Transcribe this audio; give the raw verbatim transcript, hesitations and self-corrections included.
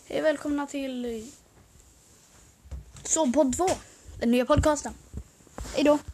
Hej, välkomna till Sovpodd två, den nya podcasten. Hej då.